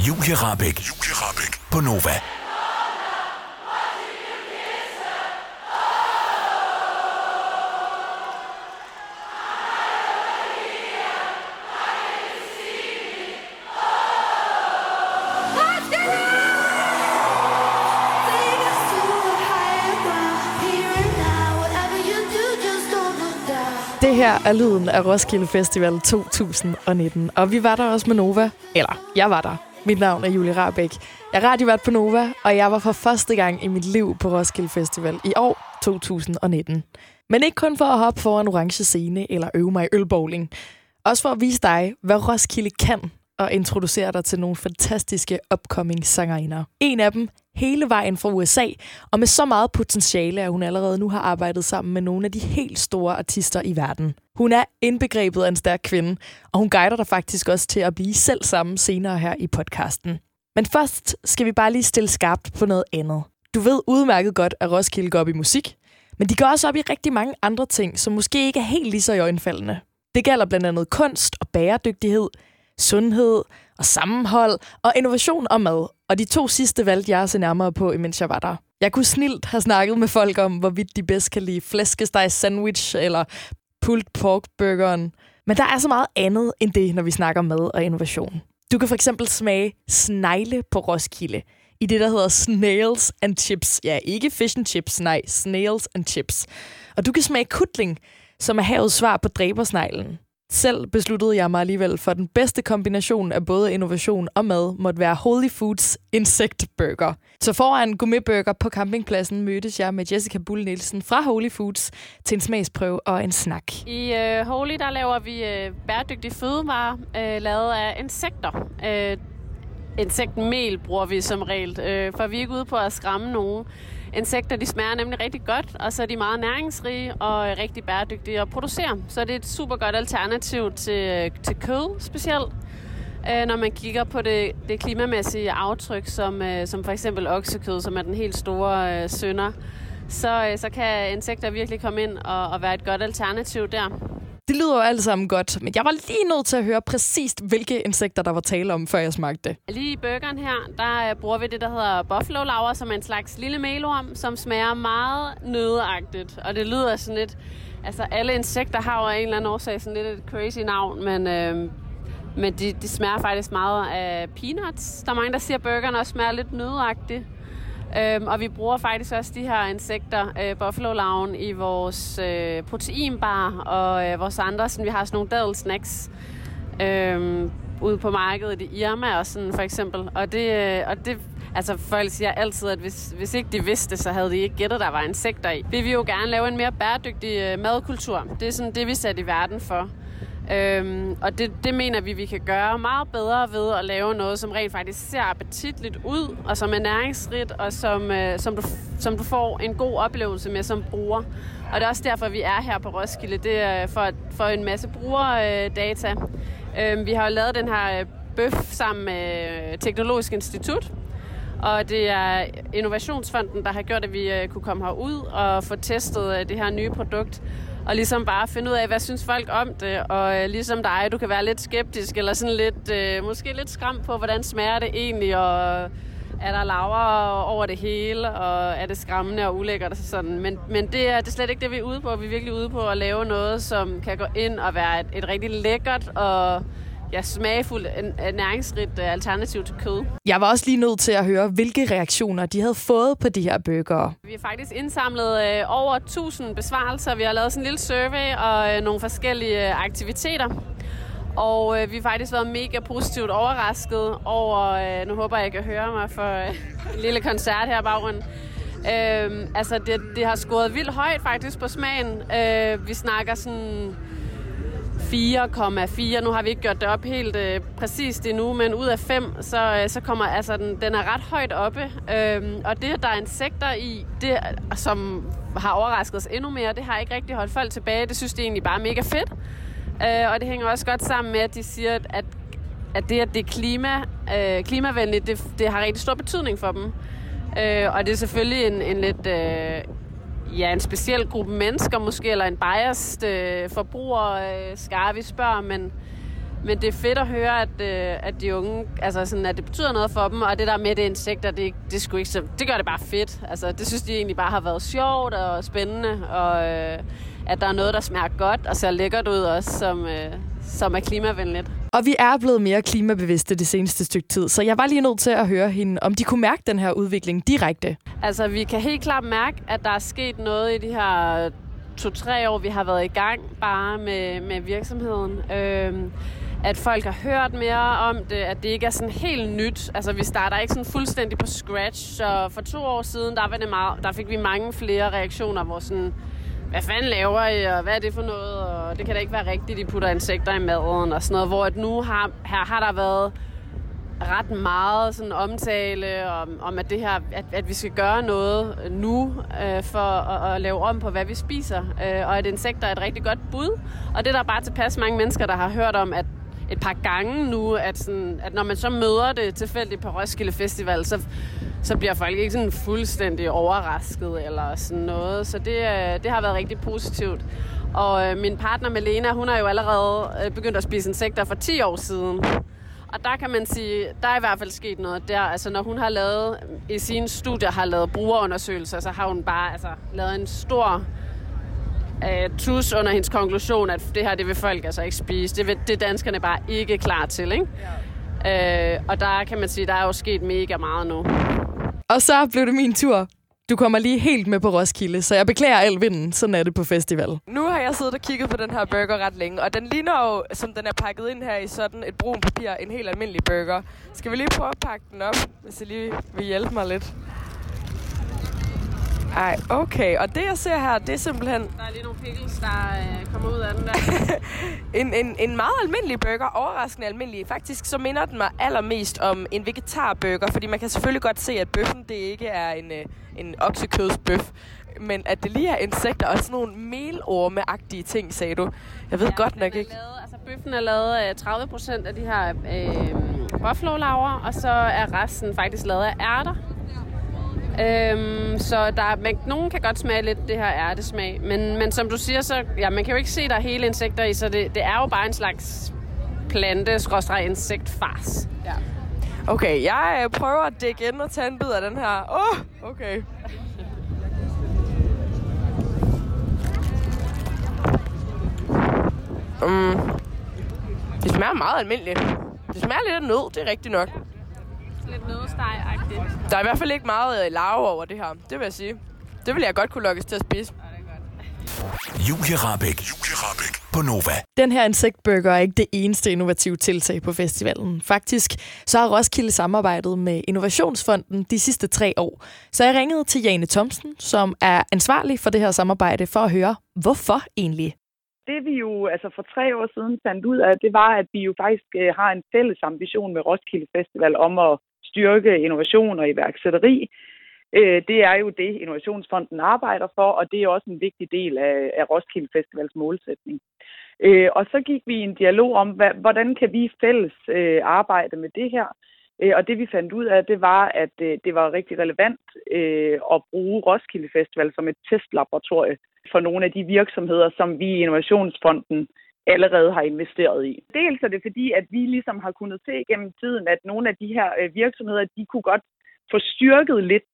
Julie Rahbek på Nova. Det her er lyden af Roskilde Festival 2019, og vi var der også med Nova. Eller, jeg var der. Mit navn er Julie Rahbek. Jeg er radiovært på Nova, og jeg var for første gang i mit liv på Roskilde Festival i år 2019. Men ikke kun for at hoppe foran orange scene eller øve mig i ølbowling. Også for at vise dig, hvad Roskilde kan, og introducere dig til nogle fantastiske upcoming sangerinder. En af dem hele vejen fra USA, og med så meget potentiale, at hun allerede nu har arbejdet sammen med nogle af de helt store artister i verden. Hun er indbegrebet af en stærk kvinde, og hun guider dig faktisk også til at blive selv sammen senere her i podcasten. Men først skal vi bare lige stille skarpt på noget andet. Du ved udmærket godt, at Roskilde går op i musik, men de går også op i rigtig mange andre ting, som måske ikke er helt lige så iøjnefaldende. Det gælder blandt andet kunst og bæredygtighed, sundhed og sammenhold og innovation og mad. Og de 2 sidste valgte jeg at se nærmere på, imens jeg var der. Jeg kunne snilt have snakket med folk om, hvorvidt de bedst kan lide flæskesteg sandwich eller pulled pork burgeren. Men der er så meget andet end det, når vi snakker mad og innovation. Du kan for eksempel smage snegle på Roskilde i det, der hedder Snails and Chips. Ja, ikke fish and chips, nej, Snails and Chips. Og du kan smage kutling, som er havets svar på dræbersneglen. Selv besluttede jeg mig alligevel for den bedste kombination af både innovation og mad måtte være Holy Foods insektburger. Så foran gourmetburger på campingpladsen mødtes jeg med Jessica Bull Nielsen fra Holy Foods til en smagsprøve og en snak. I Holy der laver vi bæredygtige fødevarer lavet af insekter. Insektmel bruger vi som regel, for vi er ikke ude på at skræmme nogen. Insekter, de smager nemlig rigtig godt, og så er de meget næringsrige og rigtig bæredygtige at producere. Så det er et super godt alternativ til kød specielt, når man kigger på det klimamæssige aftryk, som for eksempel oksekød, som er den helt store synder. Så kan insekter virkelig komme ind og være et godt alternativ der. Det lyder jo alt sammen godt, men jeg var lige nødt til at høre præcist, hvilke insekter der var tale om, før jeg smagte det. Lige i burgeren her, der bruger vi det, der hedder buffalo laver, som er en slags lille melorm, som smager meget nøddeagtigt. Og det lyder sådan lidt... Altså, alle insekter har jo af en eller anden årsag sådan lidt et crazy navn, men de smager faktisk meget af peanuts. Der er mange, der siger, at burgeren også smager lidt nøddeagtigt. Og vi bruger faktisk også de her insekter, buffalo-larven, i vores proteinbar og vores andre. Sådan, vi har sådan nogle dadelsnacks ude på markedet i Irma og sådan for eksempel. Og det altså folk siger altid, at hvis ikke de vidste, så havde de ikke gættet, der var insekter i. Vi vil jo gerne lave en mere bæredygtig madkultur. Det er sådan det, vi sætter i verden for. Og det mener vi kan gøre meget bedre ved at lave noget, som rent faktisk ser appetitligt ud, og som er næringsrigt, og som du får en god oplevelse med som bruger. Og det er også derfor, vi er her på Roskilde. Det er for en masse brugerdata. Vi har jo lavet den her bøf sammen med Teknologisk Institut, og det er Innovationsfonden, der har gjort, at vi kunne komme herud og få testet det her nye produkt. Og ligesom bare finde ud af, hvad synes folk om det, og ligesom dig, du kan være lidt skeptisk, eller sådan lidt, måske lidt skræmt på, hvordan smager det egentlig, og er der laver over det hele, og er det skræmmende og ulækkert og sådan. Men det er slet ikke det, vi er ude på. Vi er virkelig ude på at lave noget, som kan gå ind og være et rigtig lækkert og smagfuldt, næringsrigt alternativ til kød. Jeg var også lige nødt til at høre, hvilke reaktioner de havde fået på de her burgere. Vi har faktisk indsamlet over 1000 besvarelser. Vi har lavet sådan en lille survey og nogle forskellige aktiviteter. Og vi har faktisk været mega positivt overrasket over, nu håber jeg kan høre mig for en lille koncert her i baggrunden. Altså det har scoret vildt højt faktisk på smagen. Vi snakker sådan 4,4. Nu har vi ikke gjort det op helt præcist endnu, men ud af 5, så kommer altså den er ret højt oppe. Og det, der er insekter i, det, som har overrasket os endnu mere, det har ikke rigtig holdt folk tilbage. Det synes de egentlig bare er mega fedt. Og det hænger også godt sammen med, at de siger, at det er klimavenligt, det har rigtig stor betydning for dem. Og det er selvfølgelig en lidt... en speciel gruppe mennesker måske, eller en biased forbrugerskare, vi spørger, Men det er fedt at høre, at de unge, altså sådan, at det betyder noget for dem, og det der med det insekter, det sgu ikke så, det gør det bare fedt. Altså, det synes de egentlig bare har været sjovt og spændende, og at der er noget, der smager godt og ser lækkert ud også, som er klimavenligt. Og vi er blevet mere klimabevidste det seneste stykke tid, så jeg var lige nødt til at høre hende, om de kunne mærke den her udvikling direkte. Altså, vi kan helt klart mærke, at der er sket noget i de her 2-3 år, vi har været i gang bare med virksomheden. At folk har hørt mere om det, at det ikke er sådan helt nyt. Altså, vi starter ikke sådan fuldstændig på scratch, så for 2 år siden, der fik vi mange flere reaktioner, hvor sådan, hvad fanden laver I, og hvad er det for noget, og det kan da ikke være rigtigt, de putter insekter i maden og sådan noget, hvor at nu har der været ret meget sådan omtale om at det her, at vi skal gøre noget nu for at lave om på, hvad vi spiser, og at insekter er et rigtig godt bud, og det er der bare tilpas mange mennesker, der har hørt om, at et par gange nu, at når man så møder det tilfældigt på Roskilde Festival, så bliver folk ikke sådan fuldstændig overrasket eller sådan noget. Så det har været rigtig positivt. Og min partner Melena, hun har jo allerede begyndt at spise insekter for 10 år siden. Og der kan man sige, der er i hvert fald sket noget der. Altså når hun har i sine studier har lavet brugerundersøgelser, så har hun bare lavet en stor tus under hendes konklusion, at det her, det vil folk altså ikke spise. Det er danskerne bare ikke klar til, ikke? Ja. Og der kan man sige, der er jo sket mega meget nu. Og så blev det min tur. Du kommer lige helt med på Roskilde, så jeg beklager al vinden. Sådan er det på festival. Nu har jeg siddet og kigget på den her burger ret længe, og den ligner jo, som den er pakket ind her i sådan et brun papir, en helt almindelig burger. Skal vi lige prøve at pakke den op, hvis I lige vil hjælpe mig lidt? Ej, okay. Og det, jeg ser her, det er simpelthen... Der er lige nogle pickles, der kommer ud af den der. en meget almindelig burger. Overraskende almindelig. Faktisk så minder den mig allermest om en vegetarburger, fordi man kan selvfølgelig godt se, at bøffen, det ikke er en oksekødsbøf, men at det lige er insekter og sådan nogle melorme-agtige ting, sagde du. Jeg ved godt nok ikke. Bøffen er lavet 30% af de her buffalo-laver, og så er resten faktisk lavet af ærter. Så nogen kan godt smage lidt det her ærtesmag, men som du siger, så man kan jo ikke se, der er hele insekter i, så det er jo bare en slags plante-insektfars. Ja. Okay, jeg prøver at dække ind og tage en bid af den her. Okay. Det smager meget almindeligt. Det smager lidt af nød, det er rigtigt nok. Lidt nødsteg-agtigt. Der er i hvert fald ikke meget larve over det her, det vil jeg sige. Det vil jeg godt kunne lokkes til at spise. Julie Rahbek på Nova. Den her insektburger er ikke det eneste innovative tiltag på festivalen. Faktisk så har Roskilde samarbejdet med Innovationsfonden de sidste 3 år. Så jeg ringede til Jane Thomsen, som er ansvarlig for det her samarbejde, for at høre, hvorfor egentlig? Det vi jo for 3 år siden fandt ud af, det var, at vi jo faktisk har en fælles ambition med Roskilde Festival om at styrke innovation og iværksætteri. Det er jo det, Innovationsfonden arbejder for, og det er også en vigtig del af Roskilde Festivals målsætning. Og så gik vi i en dialog om, hvordan kan vi fælles arbejde med det her. Og det vi fandt ud af, det var, at det var rigtig relevant at bruge Roskilde Festival som et testlaboratorie for nogle af de virksomheder, som vi i Innovationsfonden allerede har investeret i. Dels er det fordi, at vi ligesom har kunnet se gennem tiden, at nogle af de her virksomheder, de kunne godt få styrket lidt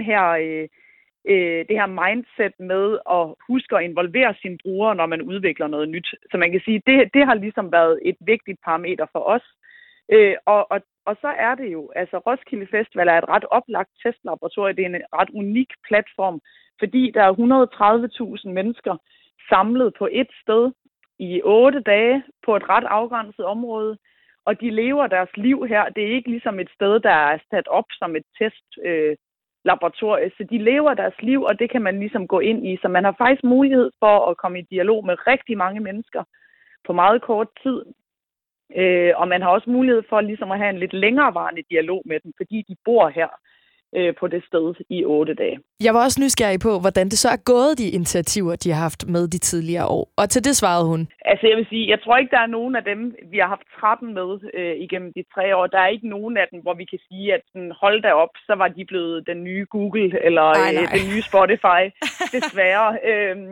det her mindset med at huske at involvere sine brugere, når man udvikler noget nyt. Så man kan sige, det har ligesom været et vigtigt parameter for os. Og så er det jo, Roskilde Festival er et ret oplagt testlaboratorie. Det er en ret unik platform, fordi der er 130.000 mennesker samlet på et sted i 8 dage på et ret afgrænset område, og de lever deres liv her. Det er ikke ligesom et sted, der er sat op som et testlaboratorie, så de lever deres liv, og det kan man ligesom gå ind i. Så man har faktisk mulighed for at komme i dialog med rigtig mange mennesker på meget kort tid. Og man har også mulighed for ligesom at have en lidt længerevarende dialog med dem, fordi de bor her på det sted i 8 dage. Jeg var også nysgerrig på, hvordan det så er gået, de initiativer, de har haft med de tidligere år. Og til det svarede hun. Jeg vil sige, jeg tror ikke, der er nogen af dem, vi har haft 13 med igennem de 3 år. Der er ikke nogen af dem, hvor vi kan sige, at hold da op, så var de blevet den nye Google eller den nye Spotify. Desværre.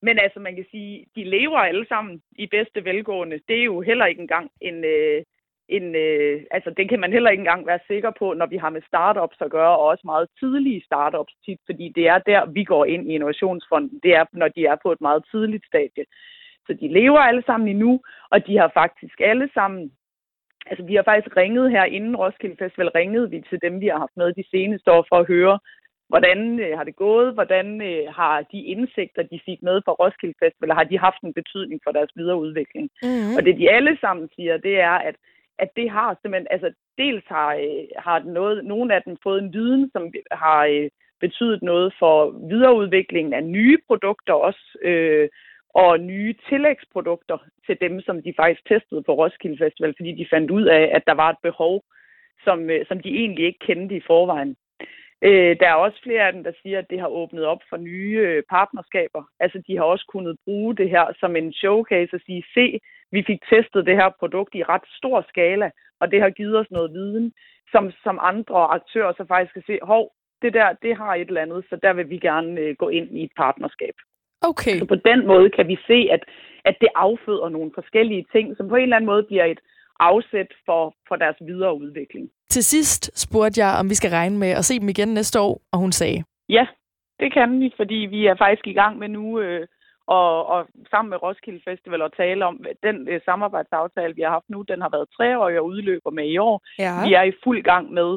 Men altså, man kan sige, de lever alle sammen i bedste velgående. Det er jo heller ikke engang altså, det kan man heller ikke engang være sikker på, når vi har med startups at gøre, og også meget tidlige startups tit, fordi det er der, vi går ind i Innovationsfonden. Det er, når de er på et meget tidligt stadie. Så de lever alle sammen endnu, og de har faktisk alle sammen, altså vi har faktisk ringet her inden Roskilde Festival, ringede vi til dem, vi har haft med de seneste år for at høre, hvordan har det gået, hvordan har de indsigter, de fik med fra Roskilde Festival, har de haft en betydning for deres videre udvikling. Mm-hmm. Og det de alle sammen siger, det er, at det har simpelthen, altså dels har nogle af dem fået en viden, som har betydet noget for videreudviklingen af nye produkter også, og nye tillægsprodukter til dem, som de faktisk testede på Roskilde Festival, fordi de fandt ud af, at der var et behov, som de egentlig ikke kendte i forvejen. Der er også flere af dem, der siger, at det har åbnet op for nye partnerskaber. Altså, de har også kunnet bruge det her som en showcase og sige, se, vi fik testet det her produkt i ret stor skala, og det har givet os noget viden, som andre aktører så faktisk kan se, det der, det har et eller andet, så der vil vi gerne gå ind i et partnerskab. Okay. Så på den måde kan vi se, at det afføder nogle forskellige ting, som på en eller anden måde bliver et afsæt for deres videre udvikling. Til sidst spurgte jeg, om vi skal regne med at se dem igen næste år, og hun sagde, ja, det kan vi, fordi vi er faktisk i gang med nu og sammen med Roskilde Festival at tale om den samarbejdsaftale, vi har haft nu. Den har været 3-årig og udløber med i år. Ja. Vi er i fuld gang med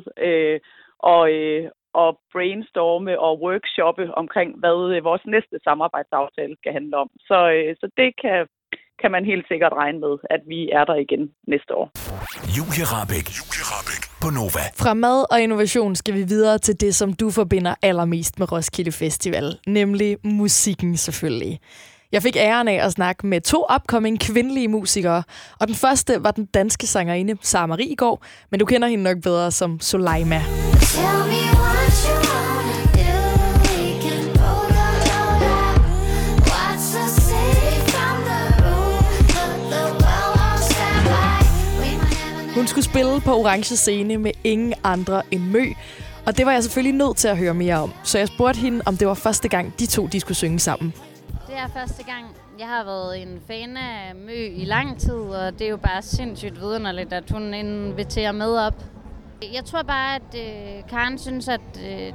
og brainstorme og workshoppe omkring, hvad vores næste samarbejdsaftale skal handle om. Så det kan man helt sikkert regne med, at vi er der igen næste år. Julie Rahbek på Nova. Fra mad og innovation skal vi videre til det, som du forbinder allermest med Roskilde Festival, nemlig musikken selvfølgelig. Jeg fik æren af at snakke med 2 upcoming kvindelige musikere, og den første var den danske sangerinde Sara Mariegaard, men du kender hende nok bedre som Soleima. Hun skulle spille på Orange Scene med ingen andre end Mø, og det var jeg selvfølgelig nødt til at høre mere om. Så jeg spurgte hende, om det var første gang, de skulle synge sammen. Det er første gang. Jeg har været en fan af Mø i lang tid, og det er jo bare sindssygt vidunderligt, at hun inviterer med op. Jeg tror bare, at Karen synes, at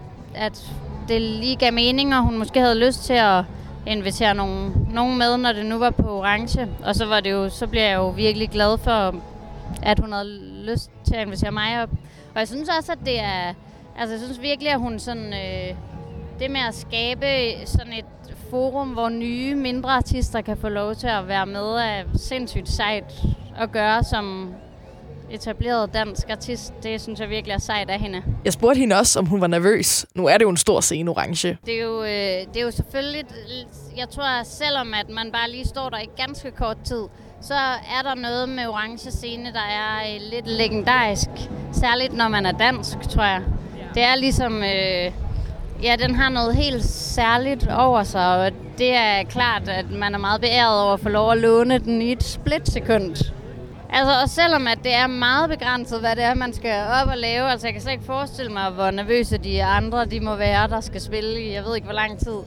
det lige gav mening, og hun måske havde lyst til at invitere nogen med, når det nu var på Orange. Og så bliver jeg jo virkelig glad for, at hun havde lyst til at invitere mig op. Og jeg synes også, at det er... Altså, jeg synes virkelig, at hun sådan... det med at skabe sådan et forum, hvor nye, mindre artister kan få lov til at være med, er sindssygt sejt at gøre som etableret dansk artist. Det synes jeg virkelig er sejt af hende. Jeg spurgte hende også, om hun var nervøs. Nu er det jo en stor scene, Orange. Det er jo selvfølgelig... Jeg tror, selvom at man bare lige står der i ganske kort tid, så er der noget med Orange Scene, der er lidt legendarisk. Særligt når man er dansk, tror jeg. Det er ligesom... den har noget helt særligt over sig, og det er klart, at man er meget beæret over at få lov at låne den i et splitsekund. Altså, og selvom at det er meget begrænset, hvad det er, man skal op og lave, altså jeg kan slet ikke forestille mig, hvor nervøse de andre de må være, der skal spille i, jeg ved ikke hvor lang tid,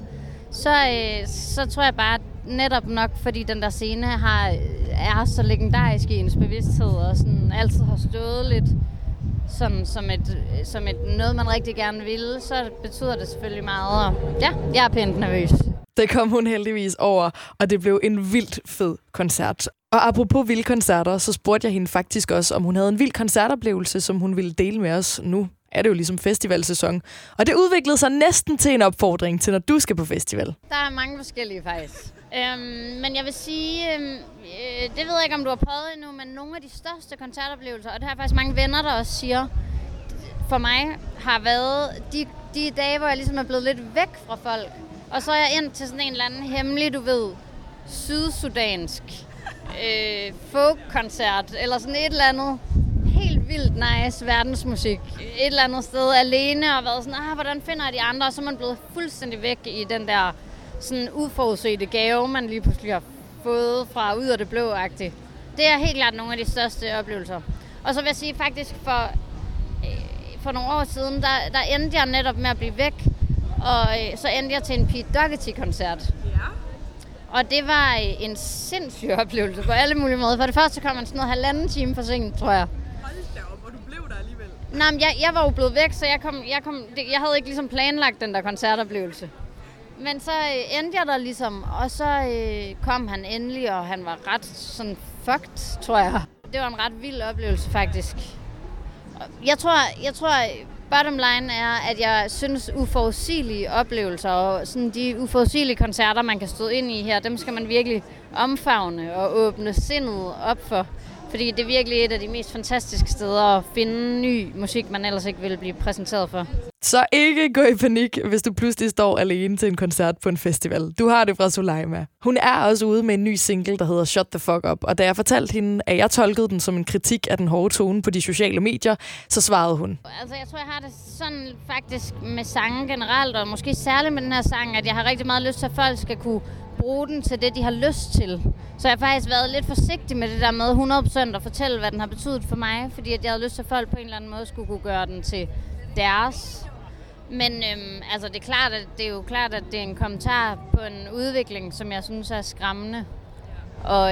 så tror jeg bare, netop nok, fordi den der scene er så legendarisk i ens bevidsthed, og sådan altid har stået lidt sådan som et noget, man rigtig gerne vil, så betyder det selvfølgelig meget. Og ja, jeg er pænt nervøs. Det kom hun heldigvis over, og det blev en vildt fed koncert. Og apropos vilde koncerter, så spurgte jeg hende faktisk også, om hun havde en vild koncertoplevelse, som hun ville dele med os. Nu er det jo ligesom festivalsæson. Og det udviklede sig næsten til en opfordring til, når du skal på festival. Der er mange forskellige faktisk. Men jeg vil sige, det ved jeg ikke, om du har prøvet endnu, men nogle af de største koncertoplevelser, og det har faktisk mange venner, der også siger, for mig har været de dage, hvor jeg ligesom er blevet lidt væk fra folk. Og så er jeg ind til sådan en eller anden hemmelig, du ved, sydsudansk folk-koncert, eller sådan et eller andet helt vildt nice verdensmusik. Et eller andet sted alene, og været sådan, hvordan finder jeg de andre? Og så er man blevet fuldstændig væk i den der sådan uforudsete gave, man lige pludselig har fået fra ud af det blå-agtigt. Det er helt klart nogle af de største oplevelser. Og så vil jeg sige faktisk, for nogle år siden, der endte jeg netop med at blive væk, og så endte jeg til en Pete Doherty-koncert. Ja. Og det var en sindssyg oplevelse på alle mulige måder. For det første kom man sådan noget 1,5 time forsinket, tror jeg. Hold da op, og du blev der alligevel. Nej, men jeg var jo blevet væk, så jeg havde ikke ligesom planlagt den der koncertoplevelse. Men så endte jeg der ligesom, og så kom han endelig, og han var ret sådan fucked, tror jeg. Det var en ret vild oplevelse, faktisk. Jeg tror bottom line er, at jeg synes uforudsigelige oplevelser, og sådan de uforudsigelige koncerter, man kan stå ind i her, dem skal man virkelig omfavne og åbne sindet op for. Fordi det er virkelig et af de mest fantastiske steder at finde ny musik, man ellers ikke ville blive præsenteret for. Så ikke gå i panik, hvis du pludselig står alene til en koncert på en festival. Du har det fra Soleima. Hun er også ude med en ny single, der hedder Shut the Fuck Up. Og da jeg fortalte hende, at jeg tolkede den som en kritik af den hårde tone på de sociale medier, så svarede hun. Altså, jeg tror, jeg har det sådan faktisk med sange generelt, og måske særligt med den her sang, at jeg har rigtig meget lyst til, at folk skal kunne bruge den til det, de har lyst til. Så jeg har faktisk været lidt forsigtig med det der med 100% at fortælle, hvad den har betydet for mig, fordi at jeg havde lyst til, at folk på en eller anden måde skulle kunne gøre den til deres. Men altså, det er jo klart, at det er en kommentar på en udvikling, som jeg synes er skræmmende. Og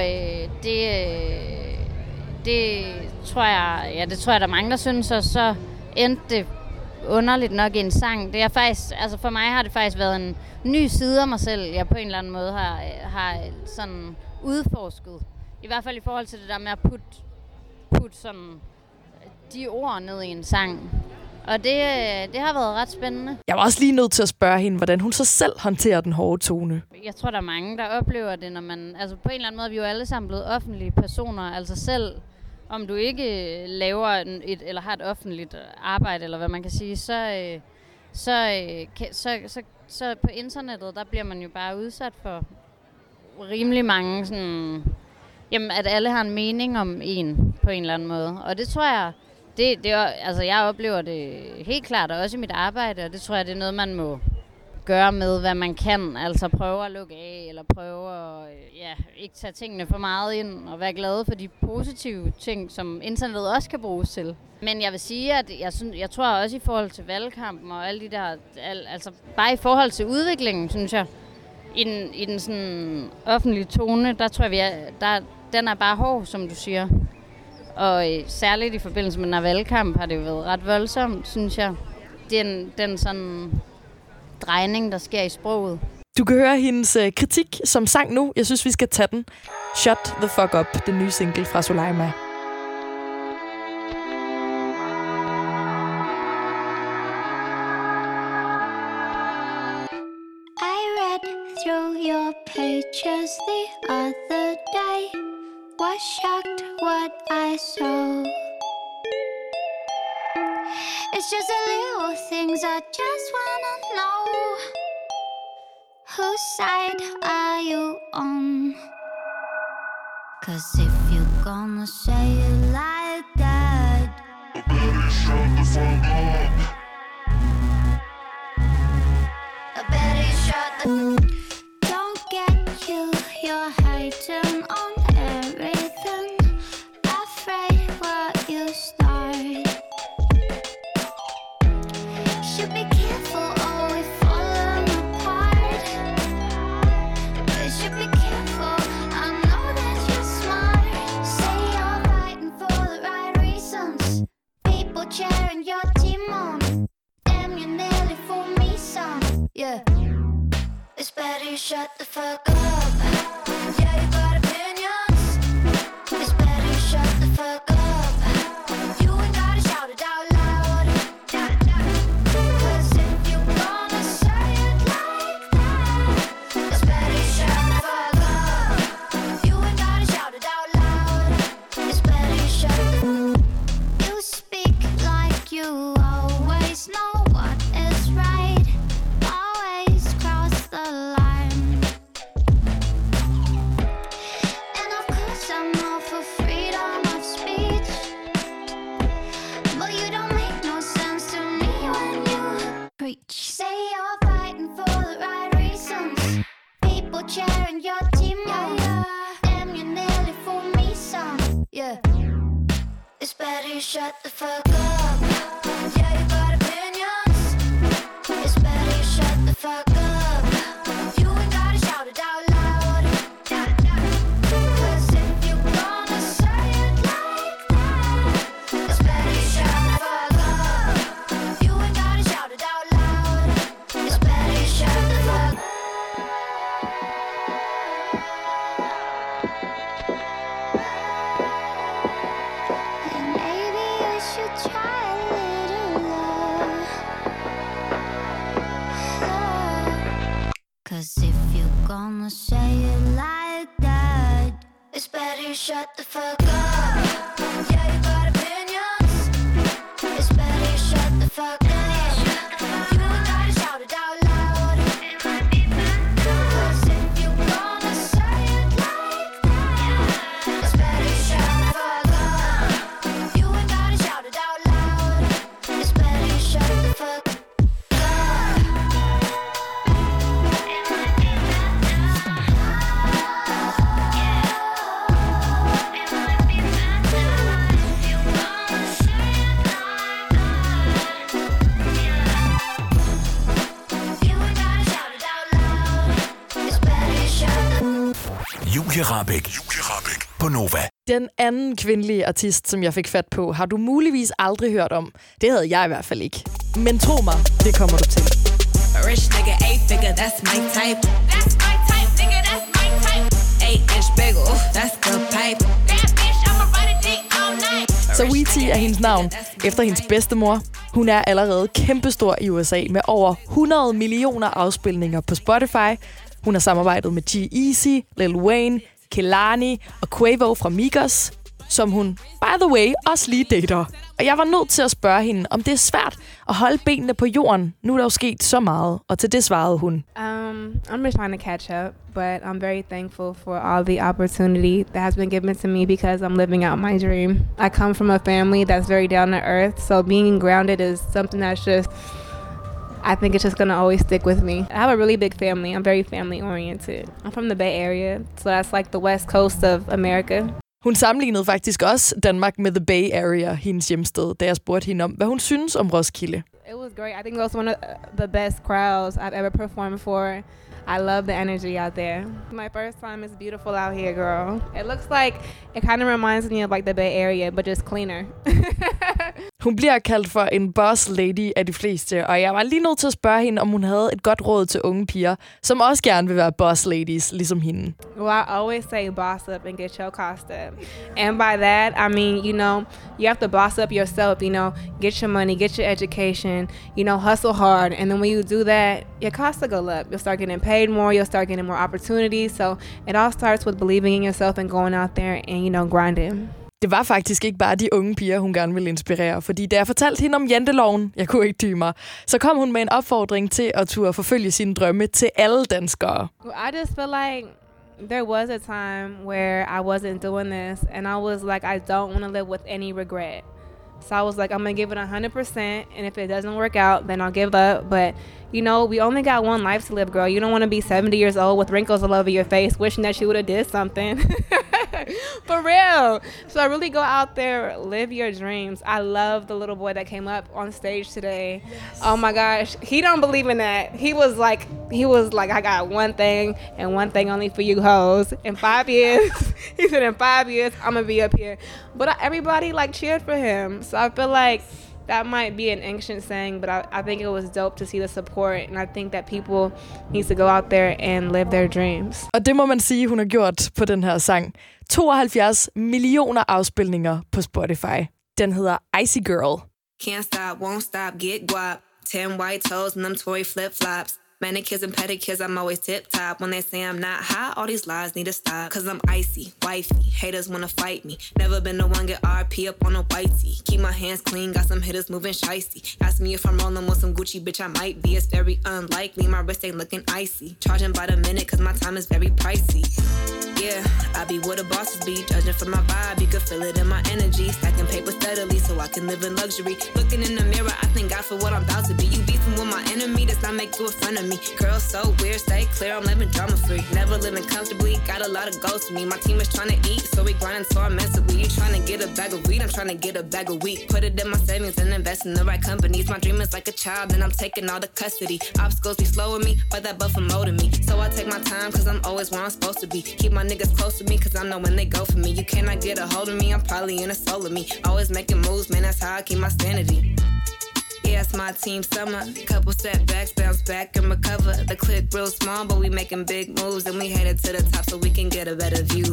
det tror jeg, der er mange, der synes, og så endte det underligt nok i en sang. Det er faktisk, altså for mig har det faktisk været en ny side af mig selv, jeg på en eller anden måde har sådan udforsket. I hvert fald i forhold til det der med at putte sådan de ord ned i en sang. Og det har været ret spændende. Jeg var også lige nødt til at spørge hende, hvordan hun så selv håndterer den hårde tone. Jeg tror, der er mange, der oplever det, når man... Altså på en eller anden måde, vi er jo alle sammen blevet offentlige personer. Altså selv om du ikke laver eller har et offentligt arbejde, eller hvad man kan sige, så på internettet, der bliver man jo bare udsat for rimelig mange sådan... Jamen, at alle har en mening om en på en eller anden måde. Og det tror jeg... Altså, jeg oplever det helt klart, og også i mit arbejde, og det tror jeg, det er noget, man må gøre med, hvad man kan. Altså prøve at lukke af, eller prøve at ikke tage tingene for meget ind, og være glad for de positive ting, som internettet også kan bruges til. Men jeg vil sige, at jeg tror også i forhold til valgkampen og alle de der, altså bare i forhold til udviklingen, synes jeg, i den sådan offentlige tone, der tror jeg, den er bare hård, som du siger. Og særligt i forbindelse med den her valgkamp har det jo været ret voldsomt, synes jeg. Den sådan drejning, der sker i sproget. Du kan høre hendes kritik som sang nu. Jeg synes, vi skal tage den. Shut the Fuck Up, den nye single fra Soleima. I read through your pages the other day. Was shocked what I saw. It's just the little things I just wanna know. Whose side are you on? 'Cause if you're gonna say it like that, I better shut the fuck up. I better shut the... Don't get you're hating on everything, afraid what you start. Should be careful or we falling apart. But should be careful, I know that you're smart. Say you're fighting for the right reasons. People cheering your team on. Damn, you nearly fooled me some. Yeah, it's better you shut the fuck up. Yeah, you got opinions. It's better you shut the fuck up. You ain't gotta shout it out loud. 'Cause if you gonna say it like that, it's better you shut the fuck up. You ain't gotta shout it out loud. It's better you shut the... You speak like you always know what is right. Always cross the line. And of course I'm all for freedom of speech, but you don't make no sense to me when you preach. Say you're fighting for the right reasons. People cheering your team on. Damn, you nearly fooled me some. Yeah, it's better you shut the fuck up. Yeah, you got opinions. It's better you shut the fuck up. You ain't gotta shout it out loud. Julie Rahbek på Nova. Den anden kvindelige artist, som jeg fik fat på, har du muligvis aldrig hørt om. Det havde jeg i hvert fald ikke. Men tro mig, det kommer du til. Rich nigga, 8-figure, that's my type. That's my type, nigga, that's my type. 8-inch big, that's the pipe. That bitch, I'ma ride a dick all night. Saweetie er hendes navn, efter hendes bedstemor. Hun er allerede kæmpestor i USA med over 100 millioner afspilninger på Spotify. Hun har samarbejdet med G-Eazy, Lil Wayne, Kehlani og Quavo fra Migos, som hun, by the way, også lige dater. Og jeg var nødt til at spørge hende, om det er svært at holde benene på jorden. Nu er der jo sket så meget, og til det svarede hun. I'm just trying to catch up, but I'm very thankful for all the opportunity that has been given to me because I'm living out my dream. I come from a family that's very down to earth, so being grounded is something that's just, I think it's just going to always stick with me. I have a really big family. I'm very family oriented. I'm from the Bay Area, so that's like the west coast of America. Hun sammenlignede faktisk også Danmark med The Bay Area, hendes hjemsted, da jeg spurgte hende om, hvad hun synes om Roskilde. It was great. I think it was one of the best crowds I've ever performed for. I love the energy out there. My first time is beautiful out here, girl. It looks like, it kind of reminds me of like the Bay Area, but just cleaner. Hun bliver kaldt for en boss lady af de fleste, og jeg var lige nødt til at spørge hende, om hun havde et godt råd til unge piger, som også gerne vil være boss ladies, ligesom hende. Well, I always say boss up and get your cost up. And by that, I mean, you know, you have to boss up yourself, you know, get your money, get your education, you know, hustle hard. And then when you do that, your costs will go up. You'll start getting paid more, you'll start getting more opportunities. So it all starts with believing in yourself and going out there and, you know, grinding. Det var faktisk ikke bare de unge piger, hun gerne ville inspirere, fordi da jeg fortalte hende om janteloven, jeg kunne ikke dy mig, så kom hun med en opfordring til at turde forfølge sine drømme til alle danskere. Well, I just feel like there was a time where I wasn't doing this, and I was like, I don't want to live with any regret. So I was like, I'm going to give it 100%, and if it doesn't work out, then I'll give up. But, you know, we only got one life to live, girl. You don't want to be 70 years old with wrinkles all over your face, wishing that you would have did something. For real. So really go out there, live your dreams. I love the little boy that came up on stage today. Yes. Oh my gosh. He don't believe in that. He was like, I got one thing and one thing only for you hoes. In 5 years, he said in 5 years, I'm going to be up here. But everybody like cheered for him. So I feel like that might be an ancient saying, but I think it was dope to see the support, and I think that people need to go out there and live their dreams. Og det må man sige, hun har gjort på den her sang. 72 millioner afspilninger på Spotify. Den hedder Icy Girl. Can't stop, won't stop, get guap. 10 white toes and them Tory flip-flops. Manicures and pedicures, I'm always tip-top. When they say I'm not hot, all these lies need to stop. Cause I'm icy, wifey, haters wanna fight me. Never been the one get RP up on a whitey. Keep my hands clean, got some hitters moving shicey. Ask me if I'm rolling with some Gucci, bitch, I might be. It's very unlikely, my wrist ain't looking icy. Charging by the minute, cause my time is very pricey. Yeah, I be where the bosses be. Judging from my vibe, you can feel it in my energy. Stacking paper steadily so I can live in luxury. Looking in the mirror, I thank God for what I'm about to be. You beefing with my enemy, does not make you a friend of me. Girl, so weird, stay clear, I'm living drama free. Never living comfortably, got a lot of goals to me. My team is trying to eat, so we grinding so immensely. You trying to get a bag of weed, I'm trying to get a bag of wheat. Put it in my savings and invest in the right companies. My dream is like a child, and I'm taking all the custody. Obstacles be slowing me, but that buffer molding me. So I take my time, cause I'm always where I'm supposed to be. Keep my niggas close to me, cause I know when they go for me. You cannot get a hold of me, I'm probably in a soul of me. Always making moves, man, that's how I keep my sanity. Yeah, it's my team summer. Couple setbacks, bounce back and recover. The clip real small, but we making big moves, and we headed to the top so we can get a better view.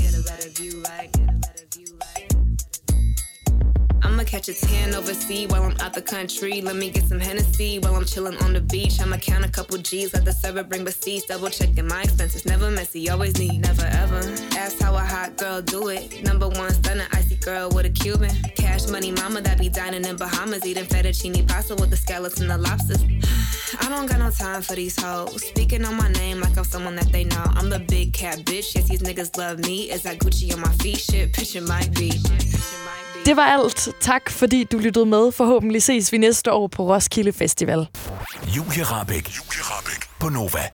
I'ma catch a tan overseas while I'm out the country. Let me get some Hennessy while I'm chilling on the beach. I'ma count a couple G's, let the server bring receipts. Double checking my expenses, never messy, always neat, never ever. Ask how a hot girl do it. Number one stunner, icy girl with a Cuban. Cash money mama that be dining in Bahamas, eating fettuccine pasta with the scallops and the lobsters. I don't got no time for these hoes. Speaking on my name like I'm someone that they know. I'm the big cat bitch, yes these niggas love me. Is that Gucci on my feet? Shit, picture might be. Det var alt. Tak fordi du lyttede med. Forhåbentlig ses vi næste år på Roskilde Festival. Julie Rahbek på Nova.